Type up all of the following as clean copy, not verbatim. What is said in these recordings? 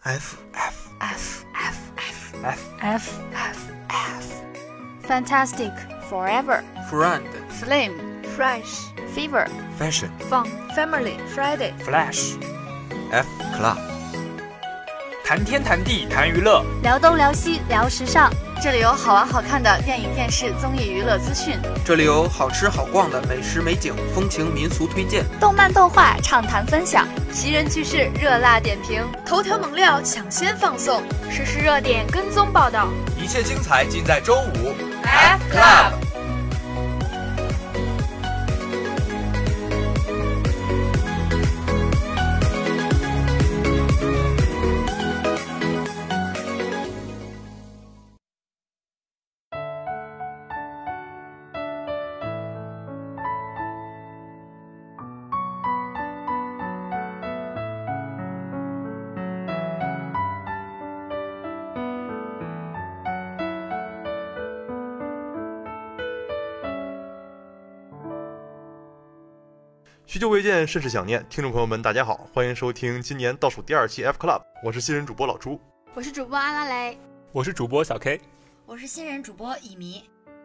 F F F F F F F F Fantastic Forever Friend Flame Fresh Fever Fashion Fun Family Friday Flash F Club 谈天谈地谈娱乐， 聊东聊西聊时尚，这里有好玩好看的电影电视综艺娱乐资讯， 这里有好吃好逛的美食美景风情民俗推荐， 动漫动画畅谈分享，奇人趣事热辣点评，头条猛料抢先放送，实时热点跟踪报道， 一切精彩尽在周五 F Club。 许久未见，甚是想念。听众朋友们，大家好，欢迎收听今年倒数第2期 F Club， 我是新人主播老朱， 我是主播阿拉蕾， 我是主播小 K， 我是新人主播乙醚。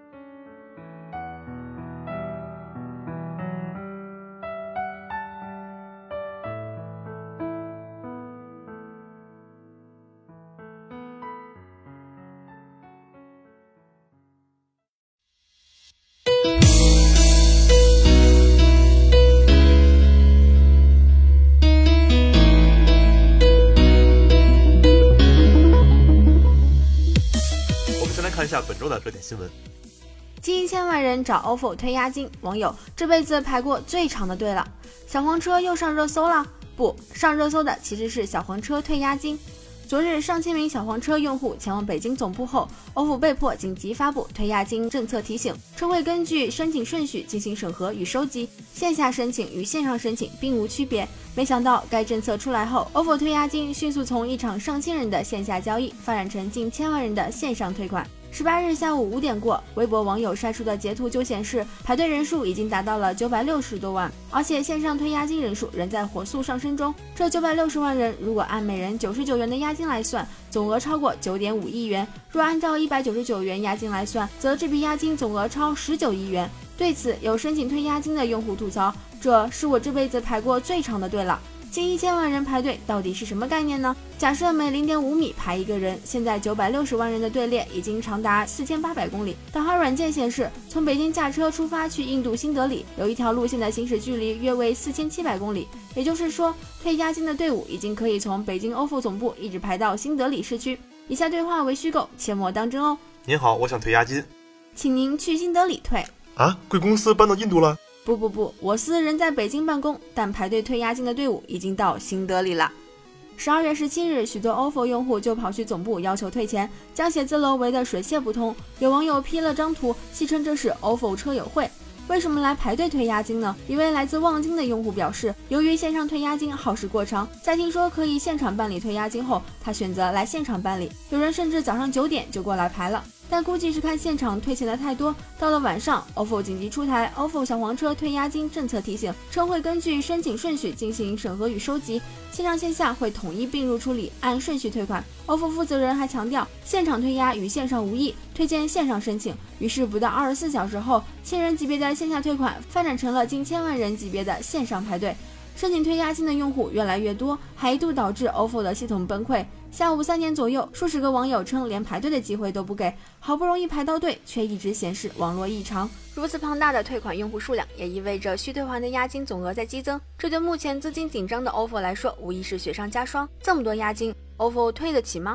看一下本周的热点新闻。 近1000万人找 OFO 推押金，网友这辈子排过最长的队了。小黄车又上热搜了？不，上热搜的其实是小黄车退押金。昨日，上千名小黄车用户前往北京总部后，OFO 被迫紧急发布退押金政策提醒，称会根据申请顺序进行审核与收集，线下申请与线上申请并无区别。没想到该政策出来后，OFO 退押金迅速从一场上千人的线下交易发展成近1000万人的线上退款。18日下午5点过，微博网友晒出的截图就显示，排队人数已经达到了960多万，而且线上退押金人数仍在火速上升中。这960万人，如果按每人99元的押金来算，总额超过9.5亿元；若按照199元押金来算，则这笔押金总额超19亿元。对此，有申请退押金的用户吐槽：“这是我这辈子排过最长的队了。”近1000万人排队到底是什么概念呢？假设每0.5米排一个人，现在960万人的队列已经长达4800公里。导航软件显示，从北京驾车出发去印度新德里，有一条路线的行驶距离约为4700公里。也就是说，退押金的队伍已经可以从北京 OFO 总部一直排到新德里市区。以下对话为虚构，切莫当真哦。 您好，我想退押金， 请您去新德里退。 啊，贵公司搬到印度了？ 不，我司人在北京办公，但排队退押金的队伍已经到新德里了。12月17日，许多 OFO 用户就跑去总部要求退钱，将写字楼围得水泄不通。有网友 P 了张图，戏称这是 OFO 车友会。为什么来排队退押金呢？一位来自望京的用户表示，由于线上退押金耗时过长，在听说可以现场办理退押金后，他选择来现场办理。有人甚至早上9点就过来排了。但估计是看现场退钱的太多，到了晚上 OFO 紧急出台 OFO 小黄车退押金政策提醒，称会根据申请顺序进行审核与收集，线上线下会统一并入处理，按顺序退款。 OFO 负责人还强调，现场退押与线上无异，推荐线上申请。于是不到24小时后，1000人级别的线下退款发展成了近1000万人级别的线上排队。申请退押金的用户越来越多，还一度导致 OFO 的系统崩溃。下午3点左右，数十个网友称连排队的机会都不给，好不容易排到队，却一直显示网络异常。如此庞大的退款用户数量，也意味着需退还的押金总额在激增，这对目前资金紧张的 OFO 来说，无疑是雪上加霜。这么多押金 ，OFO 退得起吗？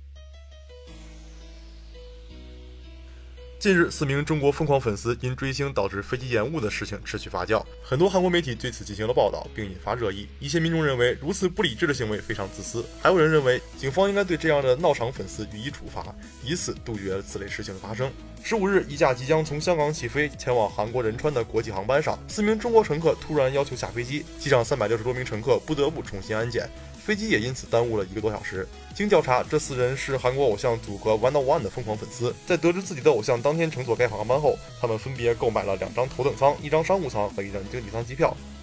近日，4名中国疯狂粉丝因追星导致飞机延误的事情持续发酵，很多韩国媒体对此进行了报道，并引发热议。一些民众认为如此不理智的行为非常自私，还有人认为警方应该对这样的闹场粉丝予以处罚，以此杜绝此类事情的发生。15日，一架即将从香港起飞前往韩国仁川的国际航班上，4名中国乘客突然要求下飞机，机上360多名乘客不得不重新安检，飞机也因此耽误了1个多小时。经调查，这4人是韩国偶像组合 ONE 的疯狂粉丝。在得知自己的偶像当天乘坐该航班后，他们分别购买了2张头等舱、1张商务舱和1张经济舱机票。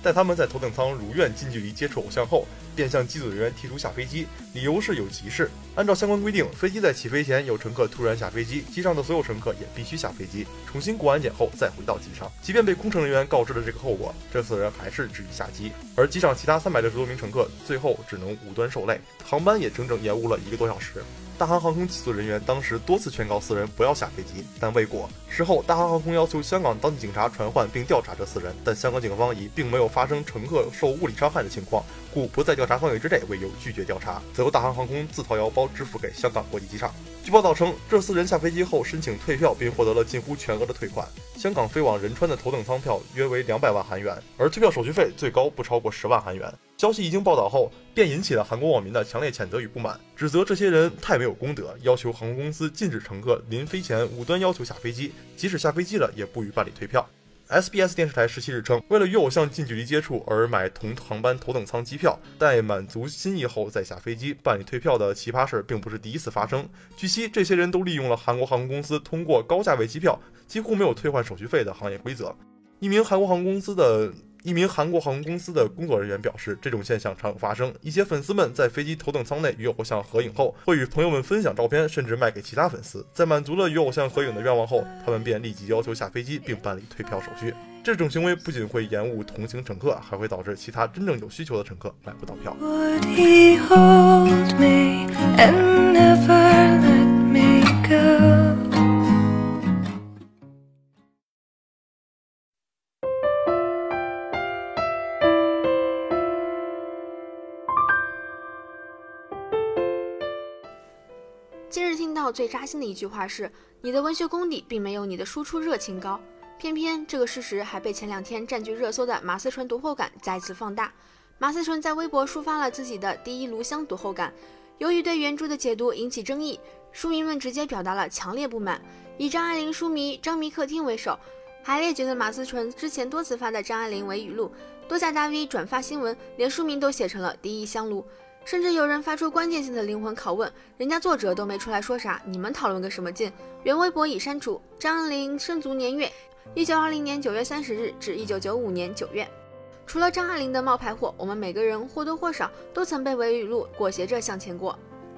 待他们在头等舱如愿近距离接触偶像后，便向机组人员提出下飞机，理由是有急事。按照相关规定，飞机在起飞前有乘客突然下飞机，机上的所有乘客也必须下飞机，重新过安检后再回到机上。即便被空乘人员告知了这个后果，这4人还是执意下机，而机上其他360多名乘客最后只能无端受累，航班也整整延误了1个多小时。大韩航空机组人员当时多次劝告4人不要下飞机，但未果。事后，大韩航空要求香港当地警察传唤并调查这4人，但香港警方以并没有发生乘客受物理伤害的情况，故不在调查范围之内为由拒绝调查，则由大韩航空自掏腰包支付给香港国际机场。据报道称，这4人下飞机后申请退票，并获得了近乎全额的退款。香港飞往仁川的头等舱票约为200万韩元，而退票手续费最高不超过10万韩元。消息一经报道后，便引起了韩国网民的强烈谴责与不满，指责这些人太没有公德，要求航空公司禁止乘客临飞前无端要求下飞机，即使下飞机了也不予办理退票。SBS 电视台17日称，为了与偶像近距离接触而买同航班头等舱机票，待满足心意后再下飞机办理退票的奇葩事并不是第一次发生。据悉，这些人都利用了韩国航空公司通过高价位机票几乎没有退换手续费的行业规则。一名韩国航空公司的工作人员表示，这种现象常有发生。一些粉丝们在飞机头等舱内与偶像合影后，会与朋友们分享照片，甚至卖给其他粉丝。在满足了与偶像合影的愿望后，他们便立即要求下飞机并办理退票手续。这种行为不仅会延误同行乘客，还会导致其他真正有需求的乘客买不到票。 今日听到最扎心的一句话是，你的文学功底并没有你的输出热情高。偏偏这个事实还被前2天占据热搜的马思纯读后感再次放大。马思纯在微博抒发了自己的第一炉香读后感，由于对原著的解读引起争议，书迷们直接表达了强烈不满，以张爱玲书迷张迷客厅为首，还列举了马思纯之前多次发的张爱玲为语录，多家大 V 转发新闻，连书名都写成了第一香炉。甚至有人发出关键性的灵魂拷问，人家作者都没出来说啥，你们讨论个什么劲？原微博已删除。张爱玲生卒年月1920年9月30日至1995年9月。除了张爱玲的冒牌货，我们每个人或多或少都曾被伪语录裹挟着向前过。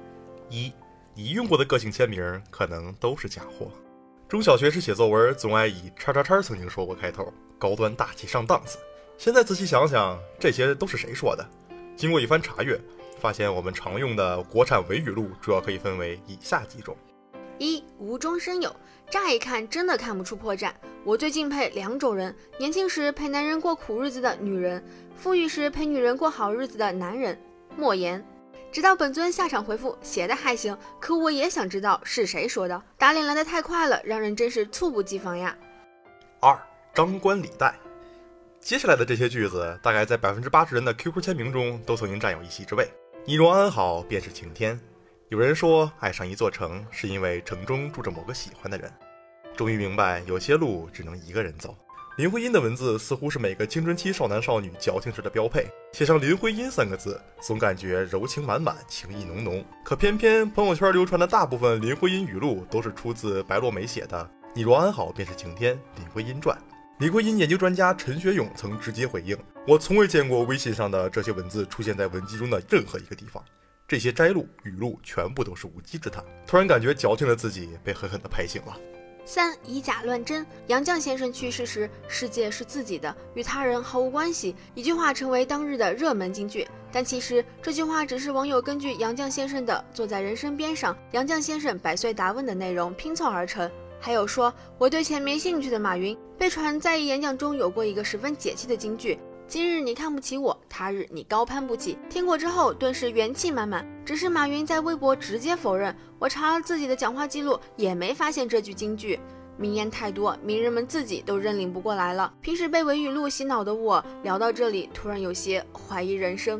1. 你用过的个性签名可能都是假货。中小学时写作文总爱以叉叉叉曾经说过开头，高端大气上档次。现在仔细想想，这些都是谁说的？经过一番查阅，发现我们常用的国产伪语录主要可以分为以下几种。 1. 无中生有，乍一看真的看不出破绽。我最敬佩2种人：年轻时陪男人过苦日子的女人，富裕时陪女人过好日子的男人。莫言。直到本尊下场回复，写的还行，可我也想知道是谁说的。打脸来的太快了，让人真是猝不及防呀。 2. 张冠李戴。接下来的这些句子，大概在80%人的 QQ 签名中都曾经占有一席之位。你若安好，便是晴天。有人说，爱上一座城，是因为城中住着某个喜欢的人。终于明白，有些路只能一个人走。林徽因的文字似乎是每个青春期少男少女矫情时的标配，写上林徽因3个字，总感觉柔情满满，情意浓浓。可偏偏朋友圈流传的大部分林徽因语录都是出自白落梅写的“你若安好，便是晴天”林徽因传。林徽因研究专家陈学勇曾直接回应：“我从未见过微信上的这些文字出现在文集中的任何一个地方，这些摘录语录全部都是无稽之谈。”突然感觉矫情的自己被狠狠地拍醒了。 3. 以假乱真。杨绛先生去世时，世界是自己的，与他人毫无关系，一句话成为当日的热门金句。但其实这句话只是网友根据杨绛先生的坐在人生边上，杨绛先生百岁答问的内容拼凑而成。还有说我对钱没兴趣的马云，被传在演讲中有过一个十分解气的金句：今日你看不起我，他日你高攀不起。听过之后顿时元气满满，只是马云在微博直接否认，我查了自己的讲话记录也没发现这句金句。名言太多，名人们自己都认领不过来了。平时被伪语录洗脑的我，聊到这里突然有些怀疑人生。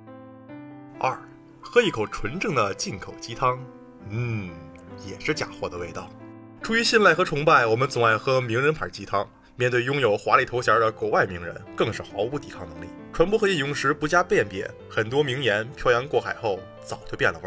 2. 喝一口纯正的进口鸡汤，也是假货的味道。出于信赖和崇拜，我们总爱喝名人牌鸡汤。面对拥有华丽头衔的国外名人，更是毫无抵抗能力。传播和引用时不加辨别，很多名言漂洋过海后早就变了味儿。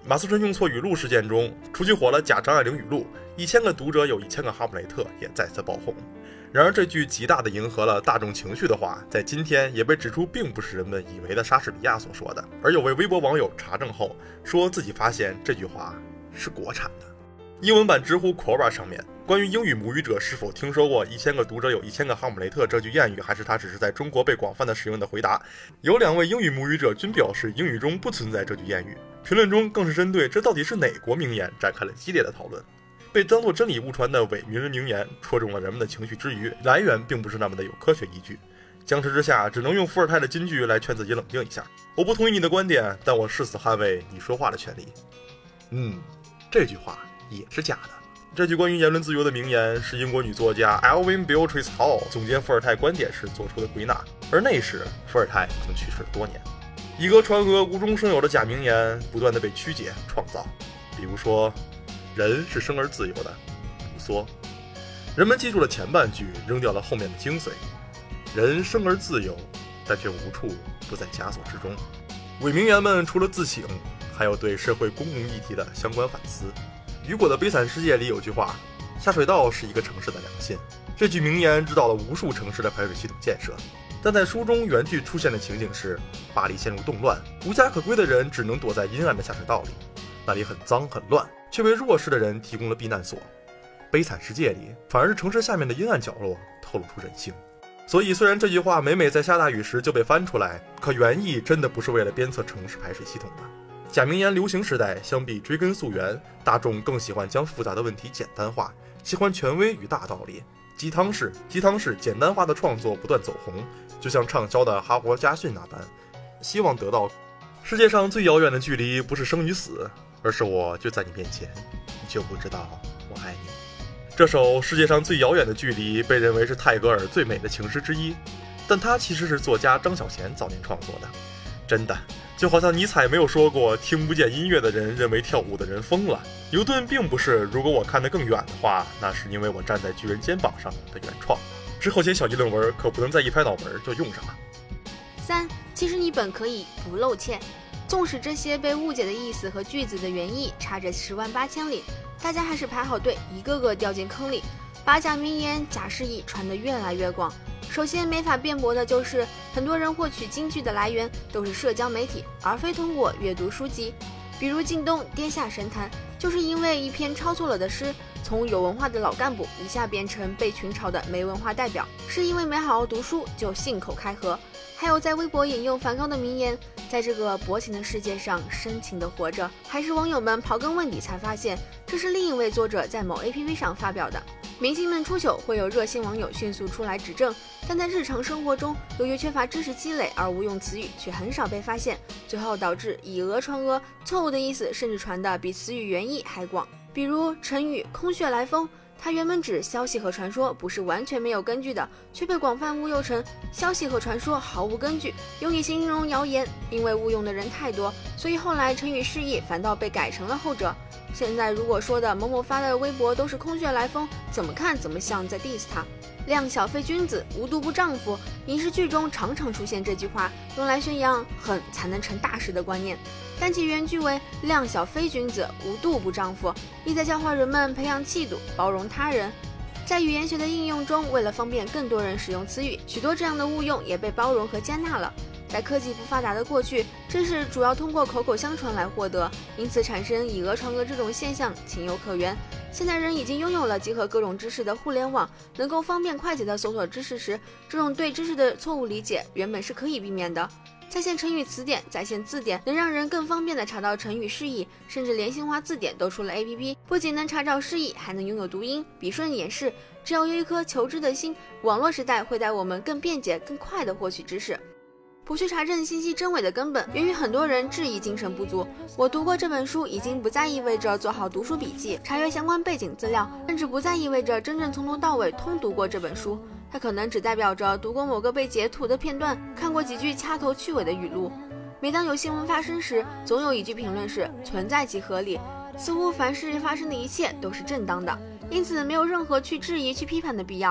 马思纯用错语录事件中，出去火了假张爱玲语录，1000个读者有1000个哈姆雷特也再次爆红。然而这句极大地迎合了大众情绪的话，在今天也被指出并不是人们以为的莎士比亚所说的，而有位微博网友查证后说自己发现这句话是国产的。英文版知乎 Quora 上面关于英语母语者是否听说过1000个读者有1000个哈姆雷特这句谚语，还是它只是在中国被广泛的使用的回答，有2位英语母语者均表示英语中不存在这句谚语，评论中更是针对这到底是哪国名言展开了激烈的讨论。被当作真理误传的伪名人名言戳中了人们的情绪之余，来源并不是那么的有科学依据。僵持之下，只能用伏尔泰的金句来劝自己冷静一下。我不同意你的观点，但我誓死捍卫你说话的权利。这句话也是假的。这句关于言论自由的名言是英国女作家 Alvin Beatrice Hall 总结伏尔泰观点时做出的归纳，而那时伏尔泰已经去世了多年。以讹传讹、无中生有的假名言不断的被曲解创造，比如说人是生而自由的，卢梭。人们记住了前半句，扔掉了后面的精髓。人生而自由，但却无处不在枷锁之中。伪名言们除了自省，还有对社会公共议题的相关反思。雨果的《悲惨世界》里有句话：下水道是一个城市的良心。这句名言指导了无数城市的排水系统建设。但在书中原句出现的情景是，巴黎陷入动乱，无家可归的人只能躲在阴暗的下水道里，那里很脏很乱，却为弱势的人提供了避难所。悲惨世界里，反而是城市下面的阴暗角落透露出人性。所以虽然这句话每每在下大雨时就被翻出来，可原意真的不是为了鞭策城市排水系统的。假名言流行时代，相比追根溯源，大众更喜欢将复杂的问题简单化，喜欢权威与大道理。鸡汤式简单化的创作不断走红，就像畅销的哈佛家训那般，希望得到世界上最遥远的距离不是生与死，而是我就在你面前，你就不知道我爱你。这首世界上最遥远的距离被认为是泰戈尔最美的情诗之一，但它其实是作家张小娴早年创作的。真的就好像尼采没有说过听不见音乐的人认为跳舞的人疯了，牛顿并不是如果我看得更远的话，那是因为我站在巨人肩膀上的原创。之后写小议论文可不能再一拍脑门就用上了。 3. 其实你本可以不露怯。纵使这些被误解的意思和句子的原意差着10万8千里，大家还是排好队，一个个掉进坑里，把假名言、假释义传得越来越广。首先没法辩驳的就是，很多人获取金句的来源都是社交媒体，而非通过阅读书籍。比如靳东《跌下神坛》，就是因为一篇抄错了的诗，从有文化的老干部一下变成被群嘲的没文化代表，是因为没好好读书就信口开河。还有在微博引用梵高的名言，在这个薄情的世界上深情地活着，还是网友们刨根问底才发现，这是另一位作者在某 APP 上发表的。明星们出糗会有热心网友迅速出来指正，但在日常生活中，由于缺乏知识积累而误用词语却很少被发现，最后导致以讹传讹，错误的意思甚至传得比词语原意还广。比如成语空穴来风，它原本指消息和传说不是完全没有根据的，却被广泛误用成消息和传说毫无根据，用以形容谣言。因为误用的人太多，所以后来成语释义反倒被改成了后者。现在如果说的某某发的微博都是空穴来风，怎么看怎么像在 diss 他。量小非君子，无度不丈夫，影视剧中常常出现这句话，用来宣扬狠才能成大事的观念。但其原句为量小非君子，无度不丈夫，意在教化人们培养气度，包容他人。在语言学的应用中，为了方便更多人使用词语，许多这样的误用也被包容和接纳了。在科技不发达的过去，知识主要通过口口相传来获得，因此产生以讹传讹这种现象情有可原。现在人已经拥有了集合各种知识的互联网，能够方便快捷地搜索知识时，这种对知识的错误理解原本是可以避免的。在线成语词典、在线字典能让人更方便地查到成语释义，甚至连新华字典都出了 APP， 不仅能查找释义，还能拥有读音、笔顺演示。只要有一颗求知的心，网络时代会带我们更便捷、更快地获取知识。不去查证信息真伪的根本，源于很多人质疑精神不足。我读过这本书，已经不再意味着做好读书笔记、查阅相关背景资料，甚至不再意味着真正从头到尾通读过这本书。它可能只代表着读过某个被截图的片段，看过几句掐头去尾的语录。每当有新闻发生时，总有一句评论是存在即合理，似乎凡事发生的一切都是正当的，因此没有任何去质疑、去批判的必要。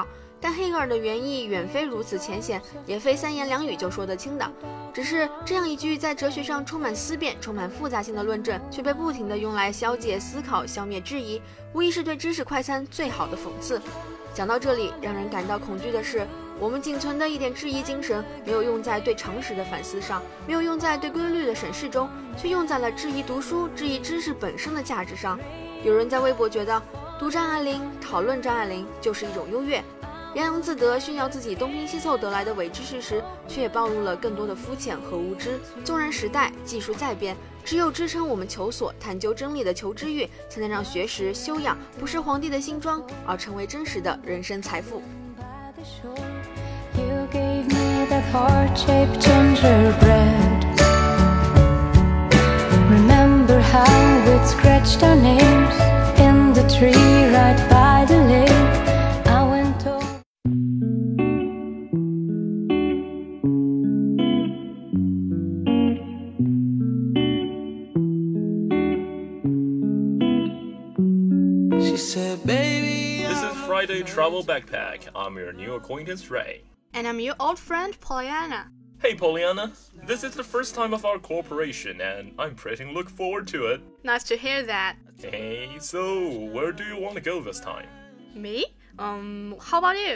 但黑格尔的原意远非如此浅显，也非三言两语就说得清的。只是这样一句在哲学上充满思辨、充满复杂性的论证，却被不停地用来消解思考、消灭质疑，无疑是对知识快餐最好的讽刺。讲到这里，让人感到恐惧的是，我们仅存的一点质疑精神，没有用在对常识的反思上，没有用在对规律的审视中，却用在了质疑读书、质疑知识本身的价值上。有人在微博觉得，读张爱玲、讨论张爱玲就是一种优越。洋洋自得炫耀自己东拼西凑得来的伪知识时，却也暴露了更多的肤浅和无知。纵然时代技术在变，只有支撑我们求索、探究真理的求知欲，才能让学识、修养不是皇帝的新装，而成为真实的人生财富。 You gave me that heart-shaped gingerbread. Remember how we'd scratched our names in the tree right by the lake.I went over. She said, baby, This is Friday Travel Backpack. I'm your new acquaintance, Ray. And I'm your old friend, Pollyanna. Hey, Pollyanna. This is the first time of our cooperation, and I'm pretty look forward to it. Nice to hear that. Hey, so where do you want to go this time? Me? How about you?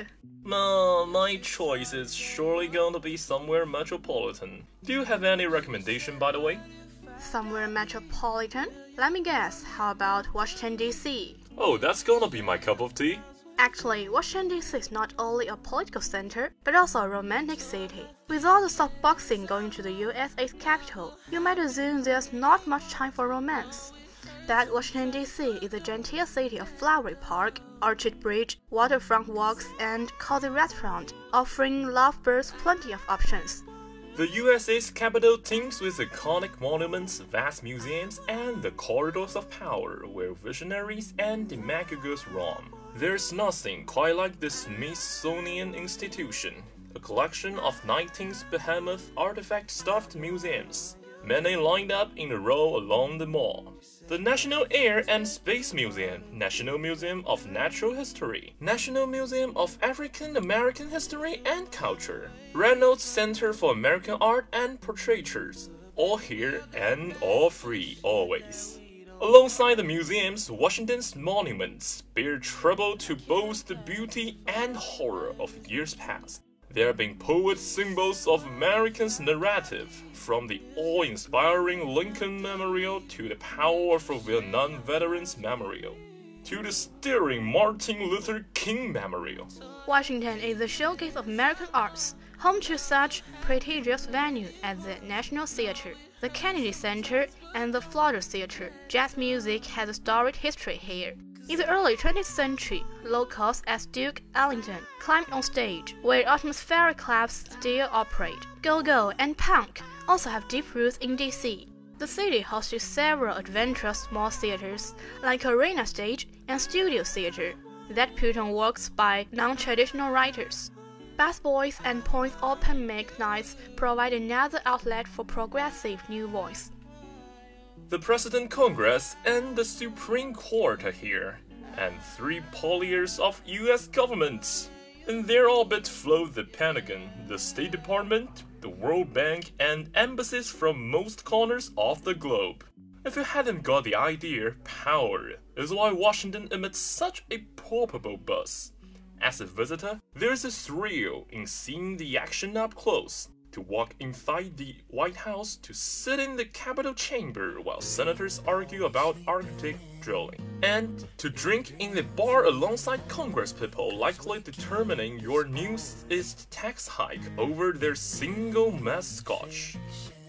My choice is surely going to be somewhere metropolitan. Do you have any recommendation, by the way? Somewhere metropolitan? Let me guess, how about Washington, D.C.? Oh, that's gonna be my cup of tea. Actually, Washington, D.C. is not only a political center, but also a romantic city. With all the softboxing going to the USA's capital, you might assume there's not much time for romance. But Washington, D.C. is a genteel city of flowery park, orchard bridge, waterfront walks, and cozy restaurant, offering lovebirds plenty of options. The USA's capital teems with iconic monuments, vast museums, and the corridors of power where visionaries and demagogues roam. There's nothing quite like the Smithsonian Institution, a collection of 19th behemoth artifact-stuffed museums, many lined up in a row along the mall. The National Air and Space Museum, National Museum of Natural History, National Museum of African American History and Culture, Reynolds Center for American Art and Portraitures, all here and all free always. Alongside the museums, Washington's monuments bear trouble to boast the beauty and horror of years past. They have been poet symbols of Americans' narrative, from the awe-inspiring Lincoln Memorial to the powerful Vietnam Veterans Memorial, to the stirring Martin Luther King Memorial. Washington is the showcase of American arts, home to such prestigious venues as the National Theatre, the Kennedy Center, and the Flutter Theatre. Jazz music has a storied history here. In the early 20th century, locals as Duke Ellington climbed on stage, where atmospheric clubs still operate. Go-go and punk also have deep roots in DC. The city hosted several adventurous small theaters, like Arena Stage and Studio Theater, that put on works by non-traditional writers. Bath Boys and Points Open Mic Nights provide another outlet for progressive new voice. The President Congress and the Supreme Court are here, and 3 polyers of US governments. In their orbit float the Pentagon, the State Department, the World Bank, and embassies from most corners of the globe. If you hadn't got the idea, power is why Washington emits such a palpable buzz. As a visitor, there's a thrill in seeing the action up close. To walk inside the White House, to sit in the Capitol chamber while senators argue about Arctic drilling, and to drink in the bar alongside Congress people likely determining your newest tax hike over their single mess scotch.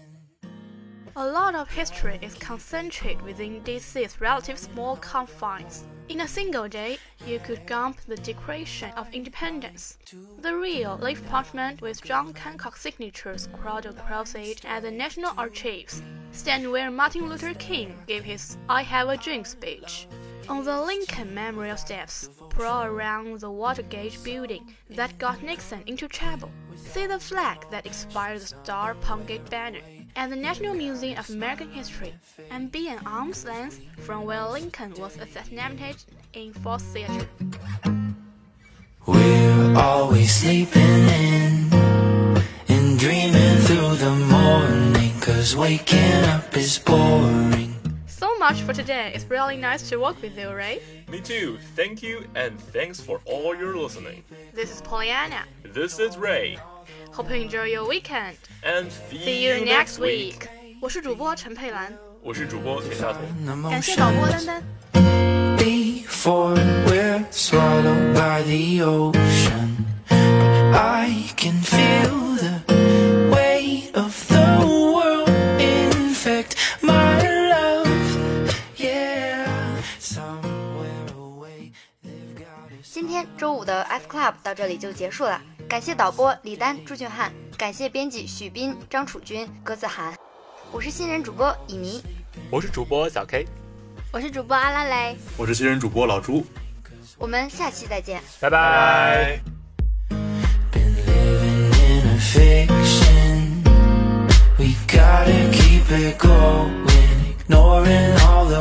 A lot of history is concentrated within DC's relatively small confines. In a single day, you could gump the Declaration of Independence, the real leaf parchment with John Hancock's signatures scrawled across it at the National Archives, stand where Martin Luther King gave his I Have a Dream speech. On the Lincoln Memorial steps, prowl around the Watergate building that got Nixon into trouble. See the flag that inspired the Star Pongate banner at the National Museum of American History, and be an arm's length from where Lincoln was assassinated in Ford's Theater. we're always sleeping in and dreaming through the morning, 'cause waking up is boring. So much for today. It's really nice to work with you, Ray. Me too. Thank you, and thanks for all your listening. This is Pollyanna. This is Ray. Hope you enjoy your weekend. And See you next week. 我是主播陈佩兰， 我是主播田大同。 感谢导播丹丹。 Before we're swallowed by the ocean, I can feel the weight of the world infect my love. Yeah, somewhere away they've got us. 今天周五的 F Club 到这里就结束了，感谢导播李丹、朱俊汉，感谢编辑许斌、张楚军、葛子涵。我是新人主播以迷， 我是主播小 K， 我是主播阿拉蕾， 我是新人主播老朱， 我们下期再见， 拜拜。 Been living in a fiction. We gotta keep it going, ignoring all the